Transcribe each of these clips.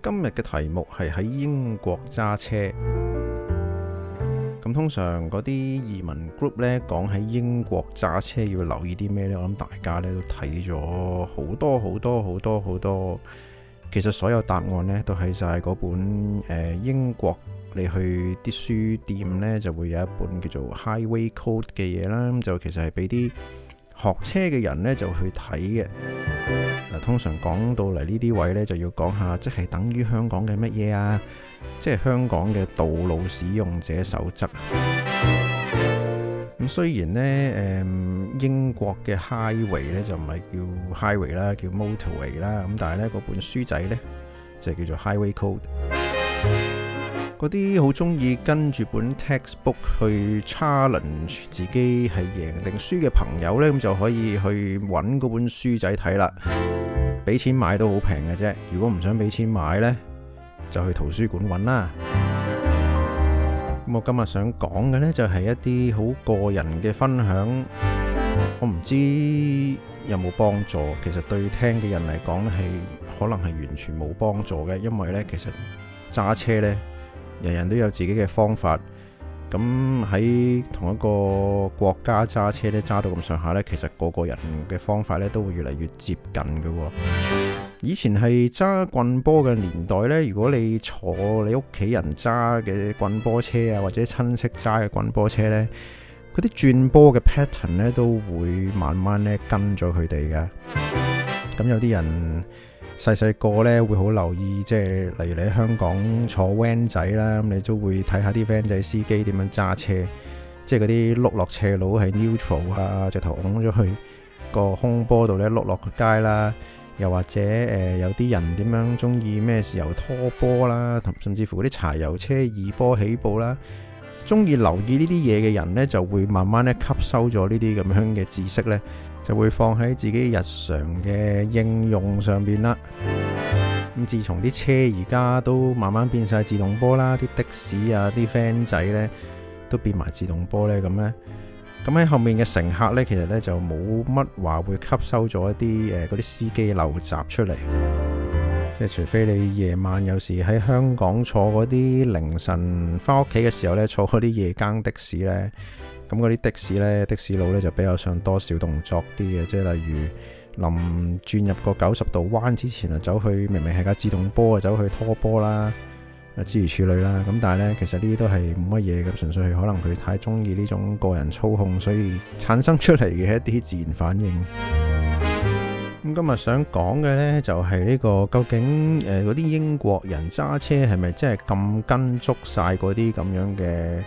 今日嘅題目係喺英國揸車。咁通常嗰啲移民 group 呢，講喺英國揸車要留意啲咩呢？我諗大家呢都睇咗好多。其實所有答案呢都喺晒嗰本英國，你去啲書店呢就會有一本叫做 Highway Code 嘅嘢啦。咁就其實係俾啲學車嘅人呢就去睇嘅。通常講到嚟呢啲位呢，就要講下，即係等於香港嘅乜嘢啊？即係香港嘅道路使用者守則。咁雖然呢，英國嘅 highway 呢就唔係叫 highway 啦，叫 motorway 啦。咁但係呢，嗰本書仔呢，就叫做 Highway Code。嗰啲好中意跟住本 textbook 去 challenge 自己係贏定輸嘅朋友呢，咁就可以去揾嗰本書仔睇啦。俾錢買都好平嘅啫。如果唔想俾錢買呢，就去圖書館揾啦。咁我今日想講嘅呢，就係一啲好個人嘅分享。我唔知有冇幫助，其實對聽嘅人嚟講呢，係可能係完全冇幫助嘅，因為呢，其實揸車呢，人人都有自己嘅方法。咁喺同一個國家揸車咧，揸到咁上下呢，其實個個人嘅方法咧都會越嚟越接近嘅。以前係揸棍波嘅年代呢，如果你坐你屋企人揸嘅棍波車啊，或者親戚揸嘅棍波車呢，嗰啲轉波嘅 pattern 呢都會慢慢咧跟咗佢哋嘅。咁有啲人細個咧會好留意，即係例如你喺香港坐 van 仔啦，咁你都會睇下啲 van 仔司機點樣揸車，即係嗰啲碌落斜路係 neutral 啊，直頭拱咗去個空波度咧碌落個街啦，又或者有啲人點樣中意咩時候拖波啦，甚至乎嗰啲柴油車二波起步啦，中意留意呢啲嘢嘅人呢，就會慢慢咧吸收咗呢啲咁樣嘅知識呢，就會放喺自己日常嘅應用上邊啦。咁自從啲車而家都慢慢變晒自動波啦，啲的士啊、啲 van 仔呢都變埋自動波呢。咁喺後面嘅乘客呢，其實呢就冇乜話會吸收咗一啲嗰啲司機陋習出嚟。即係除非你夜晚有時喺香港坐嗰啲凌晨翻屋企嘅時候呢，坐嗰啲夜更的士呢。咁嗰啲的士呢，的士佬呢就比較上多小動作啲嘅，即係例如臨轉入個90度彎之前啊，走去明明係架自動波啊，走去拖波啦，諸如此類啦。咁但係呢，其實呢啲都係冇乜嘢，咁純粹係可能佢太中意呢種個人操控，所以產生出嚟嘅一啲自然反應。咁今日想講嘅呢，就係呢個究竟嗰啲英國人揸車係咪真係咁跟足晒嗰啲咁樣嘅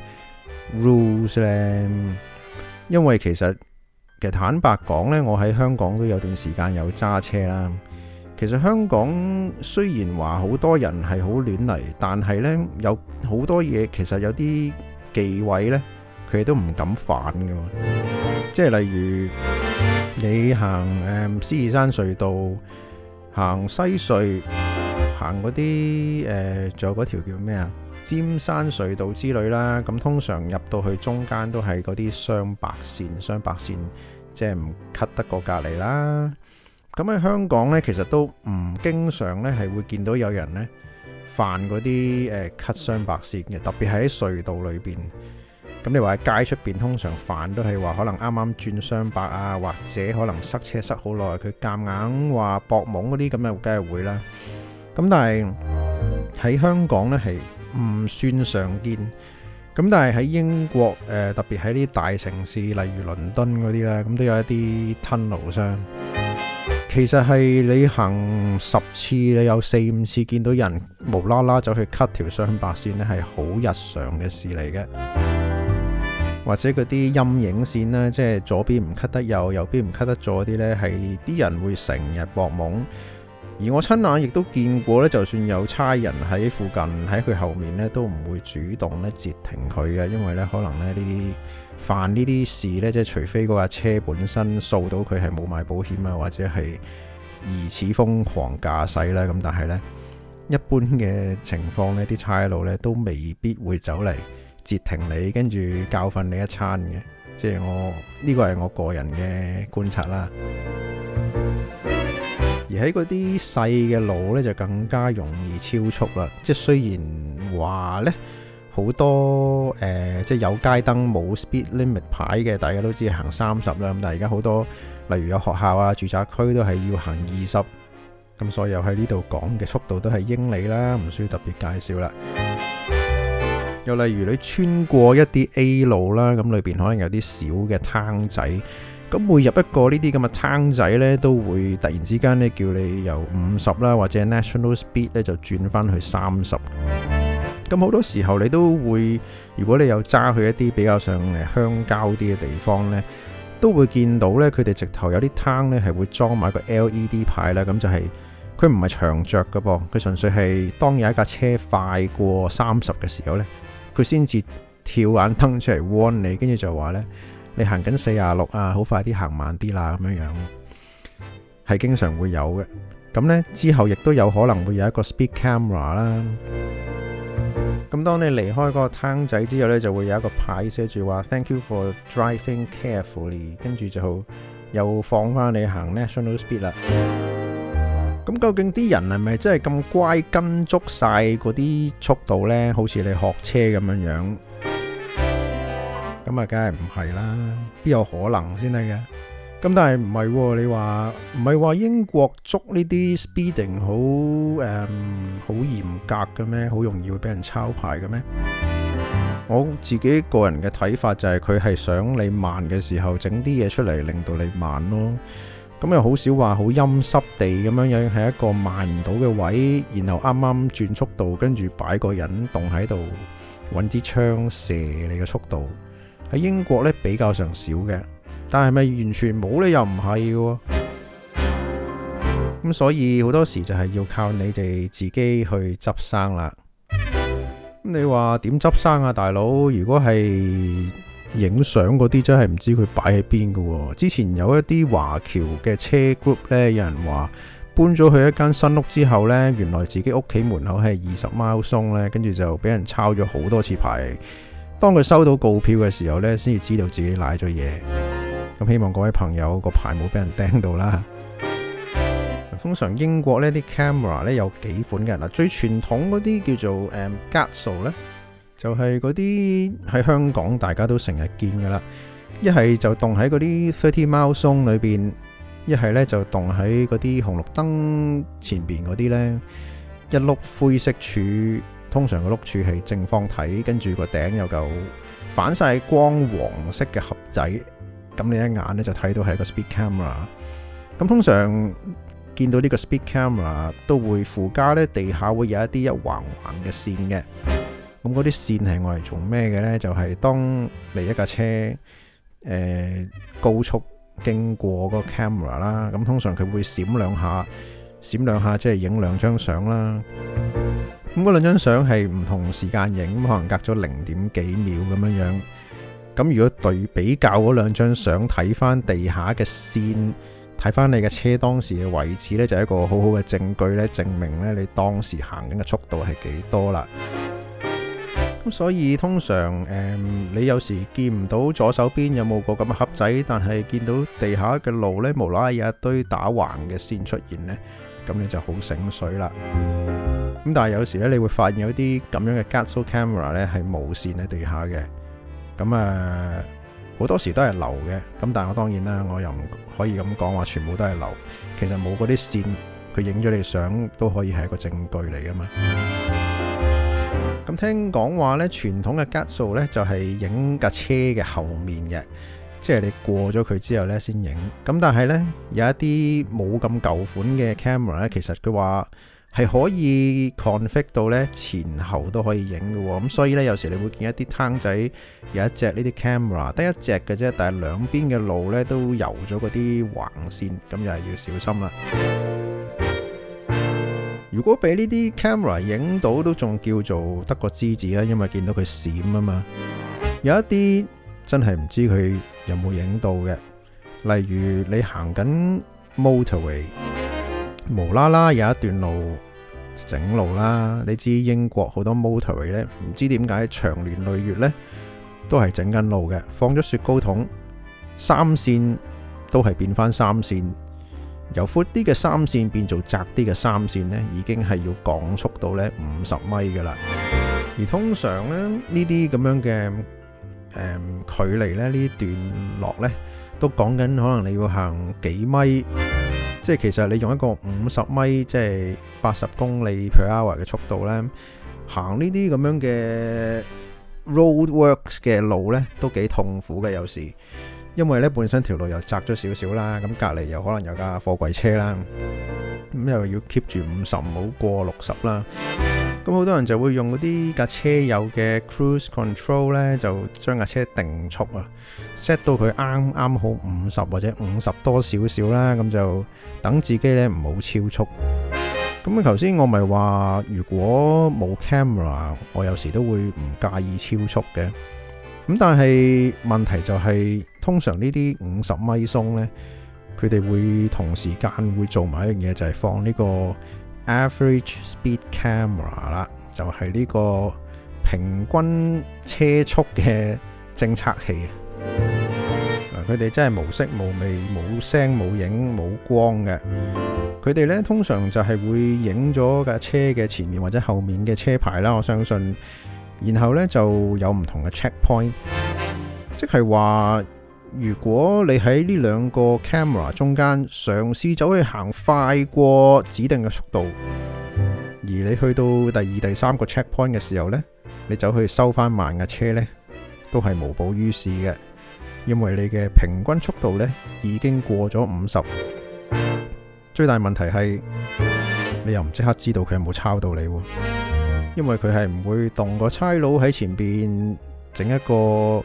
rules 咧？因為其實坦白講呢，我喺香港都有段時間有揸車啦。其實香港雖然話好多人係好亂嚟，但係呢有好多嘢，其實有啲忌諱呢，佢哋都唔敢犯嘅。即係例如你行獅子山隧道、行西隧、行嗰啲仲有嗰條叫咩啊？尖山隧道之類啦，咁通常入到去中間都係嗰啲雙白線，即係唔 cut 得過隔離啦。咁喺香港呢，其實都唔經常呢係會見到有人呢犯嗰啲cut 雙白線嘅，特別係喺隧道裏邊。咁你話喺街出邊，通常犯都係話可能啱啱轉雙白啊，或者可能塞車塞好耐，佢夾硬話搏懵嗰啲咁啊，梗係會啦。咁但係喺香港呢係唔算常見。咁但係喺英國特別喺啲大城市，例如倫敦嗰啲啦，咁都有一啲 tunnel 商。其實係你行10次，你有4-5次見到人無啦啦走去 cut 條雙白線呢，係好日常嘅事嚟嘅。或者嗰啲陰影線啦，即係左邊唔 cut 得右邊唔 cut 得左啲呢，係啲人會成日搏懵。而我親眼亦都見過呢，就算有差人喺附近喺佢後面呢，都唔會主動呢截停佢嘅，因為呢可能呢啲犯呢啲事呢，即係除非嗰架車本身掃到佢係冇買保險啊，或者係疑似瘋狂駕駛啦，咁但係呢，一般嘅情況呢，啲差佬呢都未必會走嚟截停你，跟住教訓你一餐嘅。即係呢個係我個人嘅觀察啦。 而喺嗰啲細嘅路呢，就更加容易超速啦。即係雖然話呢，好多即係有街燈冇 speed limit 牌嘅，大家都知行30啦。咁但係而家好多例如有學校啊、住宅區都係要行20。咁所以又喺呢度講嘅速度都係英里啦，唔需要特別介紹啦。又例如你穿過一啲 A 路啦，咁裏邊可能有啲小嘅攤仔，咁每入一個呢啲咁嘅攤仔呢，都會突然之間呢叫你由50啦，或者 National Speed 呢就轉翻去30。咁好多時候你都會，如果你有揸去一啲比較上鄉郊啲嘅地方呢，都會見到呢，佢哋直頭有啲攤呢係會裝埋個 LED 牌啦，咁就係佢唔係長着㗎噃，佢純粹係當有一架車快過30嘅時候呢，佢先至跳眼燈出嚟 warn 你，跟住就話呢，你行緊46啊，好快啲行慢啲啦，咁樣樣係經常會有嘅。咁呢之後亦都有可能會有一個 speed camera 啦。咁當你離開嗰個攤仔之後呢，就會有一個牌寫住話 Thank you for driving carefully， 跟住就又放翻你行 National Speed 啦。咁究竟啲人係咪真係咁乖跟足晒嗰啲速度呢？好似你學車咁樣樣，咁啊，梗係唔係啦，邊有可能先得嘅？咁但係唔係，你話唔係話英國捉呢啲 speeding 好嚴格嘅咩？好容易會俾人抄牌嘅咩？我自己個人嘅睇法就係佢係想你慢嘅時候整啲嘢出嚟，令到你慢咯。咁又好少話好陰濕地咁樣樣係一個慢唔到嘅位，然後啱啱轉速度，跟住擺個人動喺度，揾支槍射你嘅速度。喺英國呢比較上少嘅。但係咪完全冇呢？又唔係嘅。咁所以好多時就係要靠你哋自己去執生啦。咁你話點執生啊，大佬？如果係影相嗰啲，真係唔知佢擺喺邊嘅。之前有一啲華僑嘅車 group 呢，有人話搬咗去一間新屋之後呢，原來自己屋企門口係20 mile 鬆呢，跟住就俾人抄咗好多次牌。當佢收到告票嘅時候呢，先至知道自己賴咗嘢。咁希望各位朋友個牌冇俾人釘到啦。通常英國呢啲 camera 呢有幾款嘅。嗱，最傳統嗰啲叫做Gatso 呢，就係嗰啲喺香港大家都成日見噶啦。一係就動喺嗰啲30 mile zone 裏邊，一係呢就動喺嗰啲紅綠燈前邊嗰啲呢，一碌灰色柱，通常個碌柱係正方體，跟住個頂有嚿反晒光黃色嘅盒仔。咁你一眼咧就睇到係一個 speed camera。咁通常見到呢個 speed camera 都會附加咧，地下會有一啲一橫橫嘅線嘅。咁嗰啲線係我嚟做咩嘅呢？就係當你一架車高速經過嗰個 camera 啦，咁通常佢會閃兩下，即係影2張相啦。咁嗰2張相係唔同時間影，可能隔咗0點幾秒咁樣樣。咁如果比較嗰2張相，睇翻地下嘅線，睇翻你嘅車當時嘅位置呢，就係一個好好嘅證據呢，證明呢你當時行緊嘅速度係幾多啦。咁所以通常你有時見唔到左手邊有冇個咁嘅盒仔，但係見到地下嘅路呢，無啦啦有一堆打橫嘅線出現呢，咁你就好醒水啦。咁但係有時呢，你會發現有啲咁樣嘅 Gatso camera 呢係無線喺地下嘅。咁好多時都係流嘅，咁但係我當然啦，我又唔可以咁講話全部都係流。其實冇嗰啲線，佢影咗你相都可以係一個證據嚟噶嘛。咁聽講話呢，傳統嘅 Gatso 呢就係影架車嘅後面嘅，即係你過咗佢之後呢先影。咁但係呢，有一啲冇咁舊款嘅 camera 呢，其實佢話係可以 config 到呢前後都可以影嘅喎。咁所以呢，有時你會見一啲攤仔有一隻呢啲 camera 得一隻嘅啫，但係兩邊嘅路呢都油咗嗰啲橫線，咁又係要小心啦。如果俾呢啲 camera 影到都仲叫做得個知字啦，因為見到佢閃啊嘛。有一啲真係唔知佢有冇影到嘅，例如你行緊 motorway，無啦啦有一段路整路啦，你知英國好多 motorway 呢，唔知點解長年累月呢都係整緊路嘅，放咗雪糕筒，3線都係變翻3線， 由闊啲嘅3線變做窄啲嘅3線呢，已經係要降速到呢50米噶啦。而通常呢，呢啲咁樣嘅距離呢，呢啲段落呢，都講緊可能你要行幾米，即係其實你用一個50米，即係80公里 per hour 嘅速度呢，行呢啲咁樣嘅 roadworks 嘅路呢，都幾痛苦嘅有時，因為呢本身條路又窄咗少少啦，咁隔離又可能有架貨櫃車啦，咁又要 keep 住50唔好過60啦。咁好多人就會用嗰啲架車有嘅 cruise control 呢，就將架車定速啊 ，set 到佢啱啱好50或者50多少少啦，咁就等自己呢唔好超速。咁啊，頭先我咪話，如果冇 camera， 我有時都會唔介意超速嘅。咁但係問題就係，通常呢啲50米鬆呢，佢哋會同時間會做埋一樣嘢，就係放呢個 average speed camera 啦，就係呢個平均車速嘅偵測器。佢哋真係無色無味、冇聲冇影冇光嘅。佢哋呢通常就係會影咗架車嘅前面或者後面嘅車牌啦，我相信。然後呢就有唔同嘅 checkpoint， 即係話如果你喺呢兩個 camera 中間嘗試走去行快過指定嘅速度，而你去到第2、第3個 checkpoint 嘅時候呢，你走去收翻慢嘅車呢，都係無補於事嘅，因為你嘅平均速度呢已經過咗50。最大問題係你又唔即刻知道佢有冇抄到你，因為佢係唔會動個差佬喺前邊整一個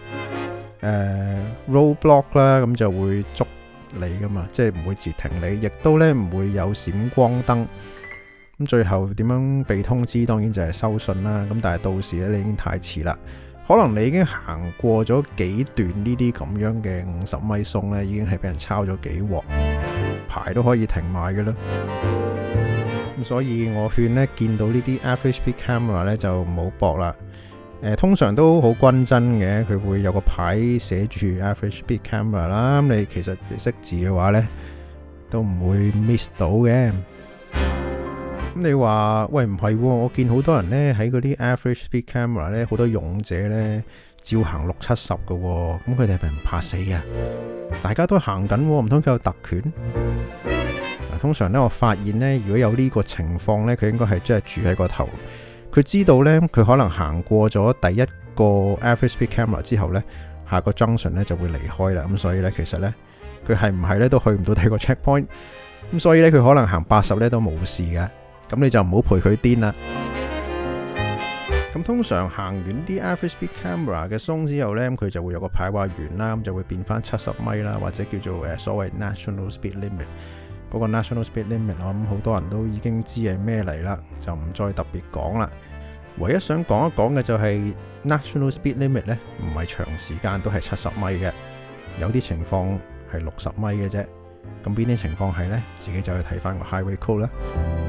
roadblock 啦，咁就會捉你噶嘛，即係唔會截停你，亦都呢唔會有閃光燈。咁最後點樣被通知？當然就係收信啦。咁但係到時咧，你已經太遲啦。可能你已經行過咗幾段呢啲咁樣嘅50米鬆呢，已經係俾人抄咗幾鑊，牌都可以停埋嘅啦。咁所以我勸呢，見到呢啲 average speed camera 呢，就唔好搏啦。通常都好均真嘅，佢會有個牌寫住 average speed camera 啦。咁你其實你識字嘅話呢，都唔會 miss 到嘅。咁你話喂，唔係喎，我見好多人呢喺嗰啲 average speed camera 呢，好多勇者呢照行60-70嘅喎。咁佢哋係咪唔怕死嘅？大家都行緊喎，唔通佢有特權？通常呢，我發現呢，如果有呢個情況呢，佢應該係真係住喺個頭。佢知道呢，佢可能行過咗第一個 average speed camera 之後呢，下個 junction 呢就會離開啦。咁所以呢，其實呢，佢係唔係呢都去唔到第二個 checkpoint。咁所以呢，佢可能行80呢都冇事嘅。咁你就唔好陪佢癲啦。咁通常行完啲 average speed camera 嘅鬆之後呢，佢就會有個牌話完啦，咁就會變翻70米啦，或者叫做所謂 national speed limit。嗰個 national speed limit， 我諗好多人都已經知係咩嚟啦，就唔再特別講啦。唯一想講一講嘅就係 national speed limit 呢，唔係長時間都係70米嘅，有啲情況係60米嘅啫。咁邊啲情況係呢？自己就去睇翻個 highway code 啦。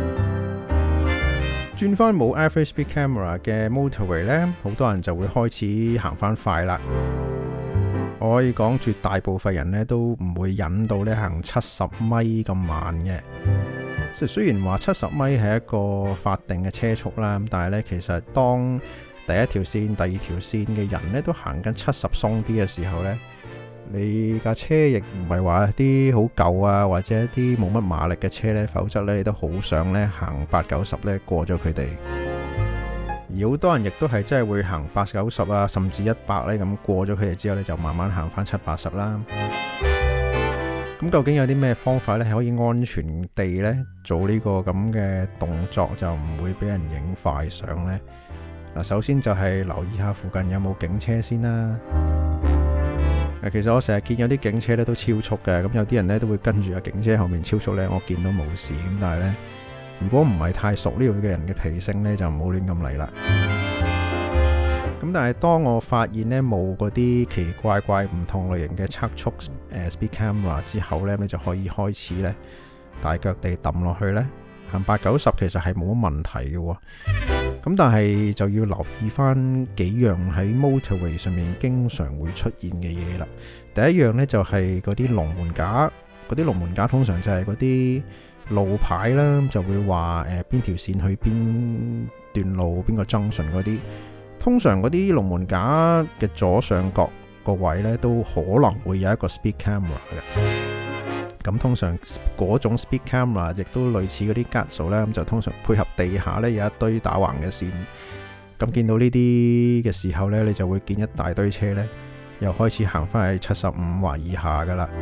轉翻冇 average speed camera 嘅 motorway 呢，好多人就會開始行翻快啦。我可以講絕大部分人呢都唔會忍到呢行70米咁慢嘅。即係雖然話70米係一個法定嘅車速啦，但係呢，其實當第一條線、第二條線嘅人呢都行緊70鬆啲嘅時候呢，你架車亦唔係話啲好舊啊，或者一啲冇乜馬力嘅車呢，否則呢，你都好想呢行80-90呢過咗佢哋。而好多人亦都係真係會行80-90啊，甚至100呢咁過咗佢哋之後呢，就慢慢行翻70-80啦。咁究竟有啲咩方法呢，係可以安全地呢做呢個咁嘅動作，就唔會俾人影快相呢？嗱，首先就係留意下附近有冇警車先啦。其實我成日見有啲警車呢都超速嘅，咁有啲人呢都會跟住個警車後面超速呢，我見到冇事，咁但係呢，如果唔係太熟呢度嘅人嘅脾性呢，就唔好亂咁嚟啦。咁但係當我發現呢冇嗰啲奇奇怪怪唔同類型嘅測速speed camera 之後呢，你就可以開始呢大腳地揼落去呢，行80-90其實係冇乜問題嘅。咁但係就要留意翻幾樣喺 motorway 上面經常會出現嘅嘢啦。第一樣呢，就係嗰啲龍門架嗰啲龍門架通常就係嗰啲路牌啦，就會話邊條線去邊段路，邊個 junction 嗰啲。通常嗰啲龍門架嘅左上角個位呢，都可能會有一個 speed camera 嘅。咁通常嗰種 speed camera 亦都類似嗰啲 guide 數啦，咁就通常配合地下呢有一堆打橫嘅線。咁見到呢啲嘅時候呢，你就會見一大堆車呢，又開始行返去75或以下噶啦。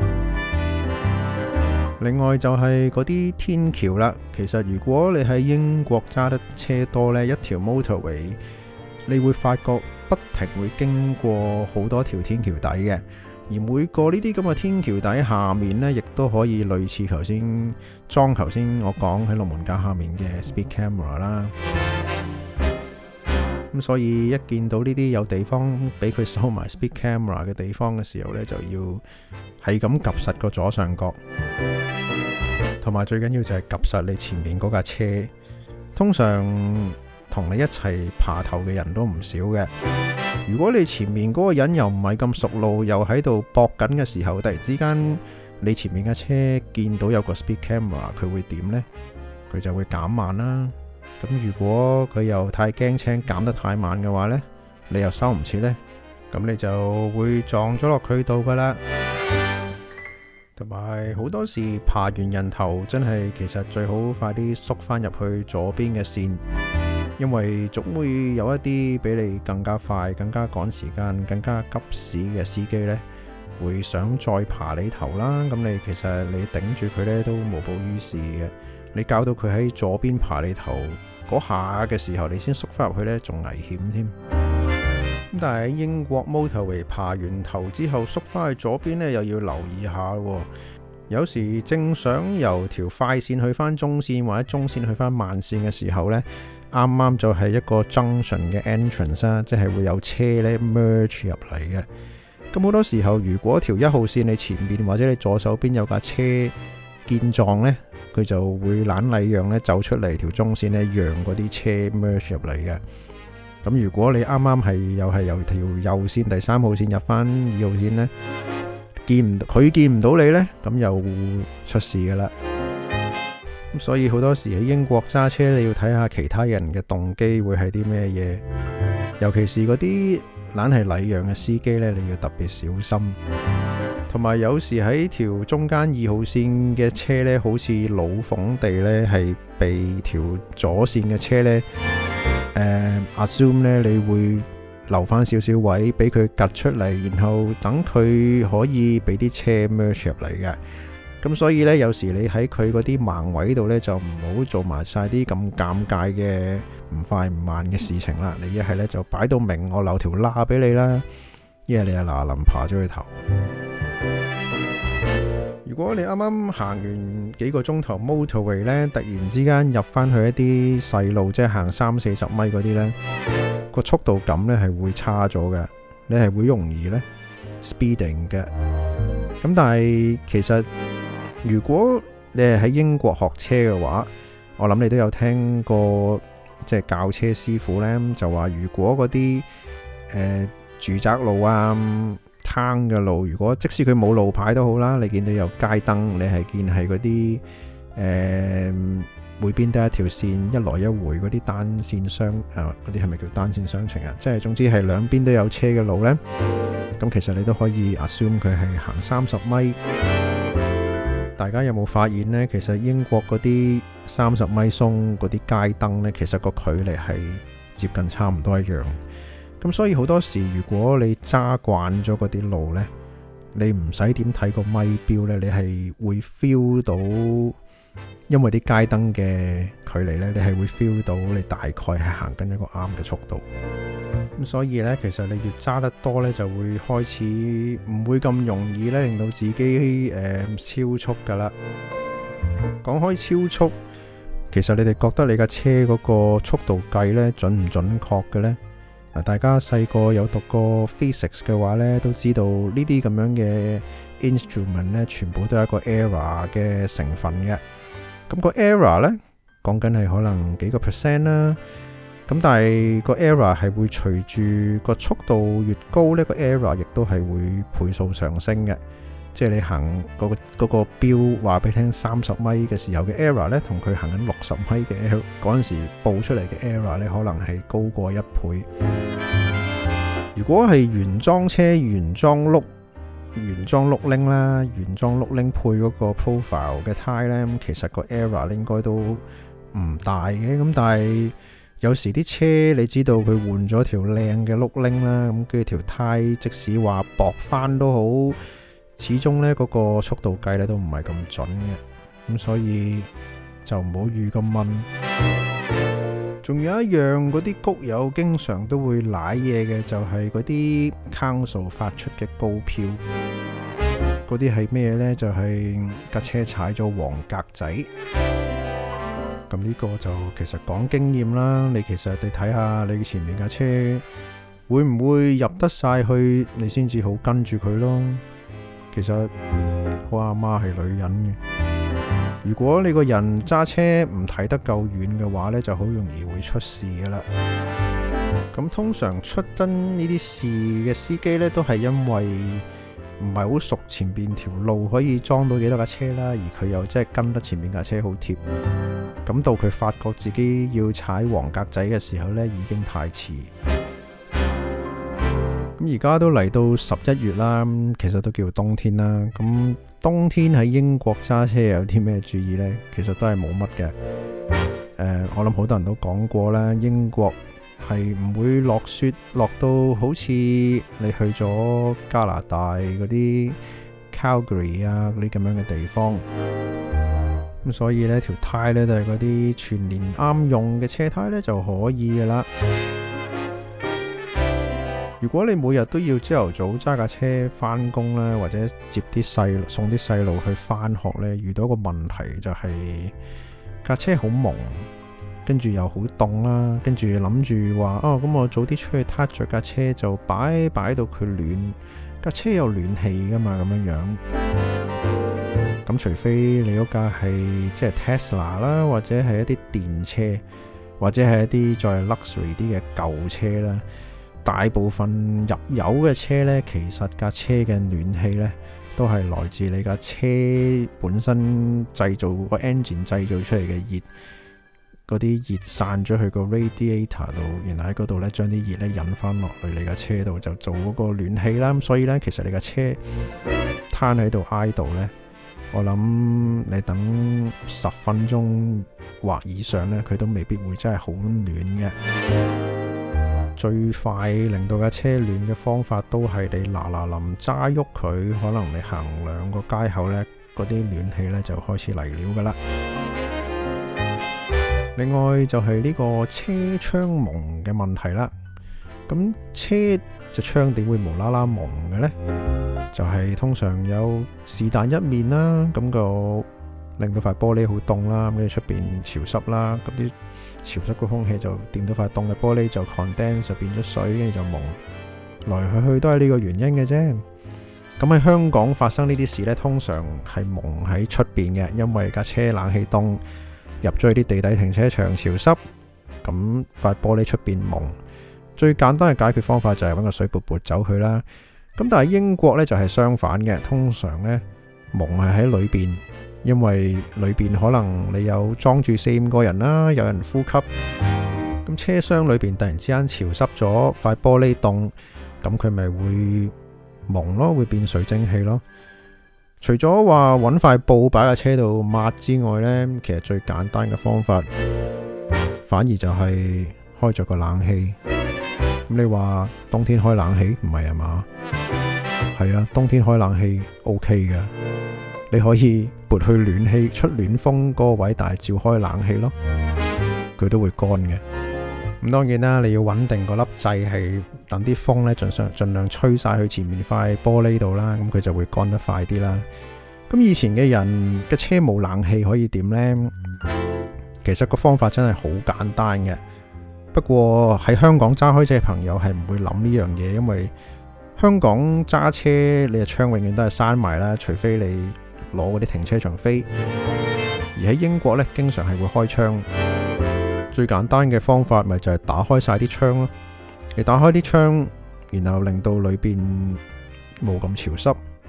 另外就係嗰啲天橋啦。其實如果你喺英國揸得車多呢，一條 motorway 你會發覺不停會經過好多條天橋底嘅，而每個呢啲咁嘅天橋底下面呢，亦都可以類似頭先我講喺龍門架下面嘅 speed camera 啦。咁所以一見到呢啲有地方俾佢收埋 speed camera 嘅地方嘅時候呢，就要係咁及實個左上角，同埋最緊要就係及實你前面嗰架車。通常同你一齊爬頭嘅人都唔少嘅。如果你前面嗰個人又唔係咁熟路，又喺度搏緊嘅時候，突然之間你前面嘅車見到有個 speed camera， 佢會點呢？佢就會減慢啦。咁如果佢又太驚青減得太慢嘅話呢，你又收唔切呢，咁你就會撞咗落佢度噶啦。同埋好多時爬完人頭真係其實最好快啲縮翻入去左邊嘅線，因為總會有一啲比你更加快、更加趕時間、更加急屎嘅司機呢，會想再爬你頭啦。咁你其實你頂住佢呢都無補於事嘅。你搞到佢喺左邊爬你頭嗰下嘅時候，你先縮翻入去呢，仲危險添。咁但係喺英國 motorway 爬完頭之後縮翻去左邊呢，又要留意下喎。有時正想由條快線去翻中線，或者中線去翻慢線嘅時候呢，啱啱就係一個 junction 嘅 entrance 啦，即係會有車呢 merge 入嚟嘅。咁好多時候，如果條1號線你前面或者你左手邊有架車見撞呢，佢就會懶禮讓呢走出嚟條中線呢，讓嗰啲車 merge 入嚟嘅。咁如果你啱啱又係由條右線第3號線入翻2號線呢，佢見唔到你呢，咁又出事噶啦。咁所以好多時喺英國揸車，你要睇下其他人嘅動機會係啲咩嘢，尤其是嗰啲懶係禮讓嘅司機呢，你要特別小心。同埋有時喺條中間2號線嘅車呢，好似老馮地呢，係被條左線嘅車呢assume 呢，你會留翻少少位俾佢趌出嚟，然後等佢可以俾啲車 merge 入嚟嘅。咁所以呢，有時你喺佢嗰啲盲位度呢，就唔好做埋晒啲咁尷尬嘅唔快唔慢嘅事情啦。你一係呢，就擺到明我留條罅俾你啦，一係你就嗱臨爬咗去頭。如果你啱啱行完幾個鐘頭 motorway 呢，突然之間入翻去一啲細路，即係行30-40米嗰啲呢，個速度感呢係會差咗嘅，你係會容易呢 speeding 嘅。咁但係其實如果你係喺英國學車嘅話，我諗你都有聽過，即係教車師傅呢就話，如果嗰啲住宅路啊、攤嘅路，如果即使佢冇路牌都好啦，你見到有街燈，你係見係嗰啲每邊都一條線一來一回嗰啲單線雙嗰啲係咪叫單線雙程啊？即係總之係兩邊都有車嘅路呢。咁其實你都可以 assume 佢係行30米。大家有冇發現呢？其實英國嗰啲30米鬆嗰啲街燈呢，其實個距離係接近差唔多一樣。咁所以好多時，如果你揸慣咗嗰啲路呢，你唔使點睇個咪錶呢，你係會 feel 到，因為啲街燈嘅距離呢，你係會 feel 到你大概係行緊一個啱嘅速度。咁所以呢，其實你越揸得多呢，就會開始唔會咁容易呢，令到自己超速噶啦。講開超速，其實你哋覺得你架車嗰個速度計呢，準唔準確嘅呢？大家細個有讀過 physics 嘅話呢，都知道呢啲咁樣嘅 instrument 呢，全部都係一個 error 嘅成分嘅。咁個 error 呢，講緊係可能幾個 percent 啦。咁但係個 error 係會隨住個速度越高呢，個 error 亦都係會倍數上升嘅。 即係你行嗰個標話俾你聽30米嘅時候嘅 error 呢，同佢行緊60米嘅嗰陣時報出嚟嘅 error呢，可能係高過1倍。如果係原裝車、原裝轆鈴啦，原裝轆鈴配嗰個 profile 嘅胎呢，咁其實個 error 應該都唔大嘅。咁但係有時啲車你知道佢換咗條靚嘅轆鈴啦，咁跟住條胎即使話薄翻都好，始終呢嗰個速度計呢都唔係咁準嘅，咁所以就唔好預咁問。仲有一樣嗰啲谷友經常都會瀨嘢嘅，就係嗰啲 Council 發出嘅告票。嗰啲係咩呢？就係架車踩咗黃格仔。咁呢個就其實講經驗啦。你其實你睇下你前面架車會唔會入得晒去，你先至好跟住佢咯。其實我阿媽係女人嘅。如果你個人揸車唔睇得夠遠嘅話呢，就好容易會出事噶啦。咁通常出真呢啲事嘅司機呢，都係因為唔係好熟前邊條路可以裝到幾多架車啦，而佢又真係跟得前面架車好貼。咁到佢發覺自己要踩黃格仔嘅時候呢，已經太遲。咁而家都嚟到11月啦，其實都叫冬天啦。咁冬天喺英國揸車有啲咩注意呢？其實都係冇乜嘅。我諗好多人都講過啦，英國係唔會落雪落到好似你去咗加拿大嗰啲 Calgary 啊嗰啲咁樣嘅地方。咁所以呢條胎呢，都係嗰啲全年啱用嘅車胎呢就可以噶啦。如果你每日都要朝頭早揸架車返工啦，或者接啲送啲細路去返學呢，遇到一個問題就係架車好蒙，跟住又好凍啦，跟住諗住話咁我早啲出去撻着架車就擺到佢暖，架車有暖氣噶嘛，咁樣樣。咁除非你嗰架係即係 Tesla 啦，或者係一啲電車，或者係一啲再 luxury 啲嘅舊車啦。大部分入油嘅車呢，其實架車嘅暖氣呢，都係來自你架車本身製造個 engine 製造出嚟嘅熱，嗰啲熱散咗去個 radiator 度，然後喺嗰度呢將啲熱呢引翻落去你架車度，就做嗰個暖氣啦。咁所以呢，其實你架車攤喺度idle呢，我諗你等10分鐘或以上呢，佢都未必會真係好暖嘅。最快令到架車暖嘅方法都係你嗱臨揸喐佢，可能你行2個街口呢，嗰啲暖氣呢就開始嚟了噶啦。另外就係呢個車窗蒙嘅問題啦。咁車隻窗點會無啦啦蒙嘅呢？就係通常有是但一面啦，咁個令到塊玻璃好凍啦，跟住出邊潮濕啦，咁啲潮濕嘅空氣就掂到塊凍嘅玻璃就 condense 就變咗水，跟住就蒙，來去去都係呢個原因嘅啫。咁喺香港發生呢啲事呢，通常係蒙喺出邊嘅，因為架車冷氣凍，入咗去啲地底停車場潮濕，咁塊玻璃出邊蒙。最簡單嘅解決方法就係揾個水撥撥走佢啦。咁但係英國呢就係相反嘅，通常呢蒙係喺裏邊。因為裏邊可能你有裝住4-5個人啦，有人呼吸，咁車廂裏邊突然之間潮濕咗，塊玻璃凍，咁佢咪會蒙咯，會變水蒸氣咯。除咗話揾塊布擺喺車度抹之外呢，其實最簡單嘅方法，反而就係開咗個冷氣。咁你話冬天開冷氣唔係啊嘛？係啊，冬天開冷氣 OK 噶。你可以撥去暖氣出暖風嗰個位，但係照開冷氣咯，佢都會乾嘅。咁當然啦，你要穩定個粒掣，係等啲風呢盡量吹晒去前面塊玻璃度啦，咁佢就會乾得快啲啦。咁以前嘅人嘅車冇冷氣可以點呢？其實個方法真係好簡單嘅。不過喺香港揸開車嘅朋友係唔會諗呢樣嘢，因為香港揸車你嘅窗永遠都係閂埋啦，除非你攞嗰啲停車場飛。而喺英國呢，經常係會開窗。最簡單嘅方法咪就係打開晒啲窗咯。你打開啲窗，然後令到裏邊冇咁潮濕，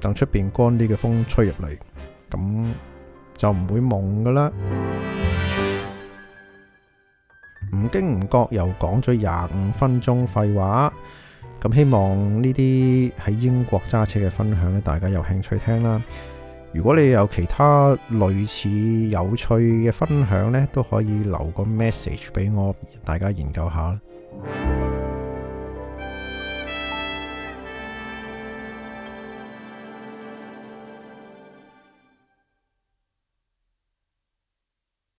等出邊乾啲嘅風吹入嚟，咁就唔會蒙噶啦。唔經唔覺又講咗25分鐘廢話，咁希望呢啲喺英國揸車嘅分享咧，大家有興趣聽啦。如果你有其他類似有趣嘅分享呢，都可以留個 message 俾我，大家研究下啦。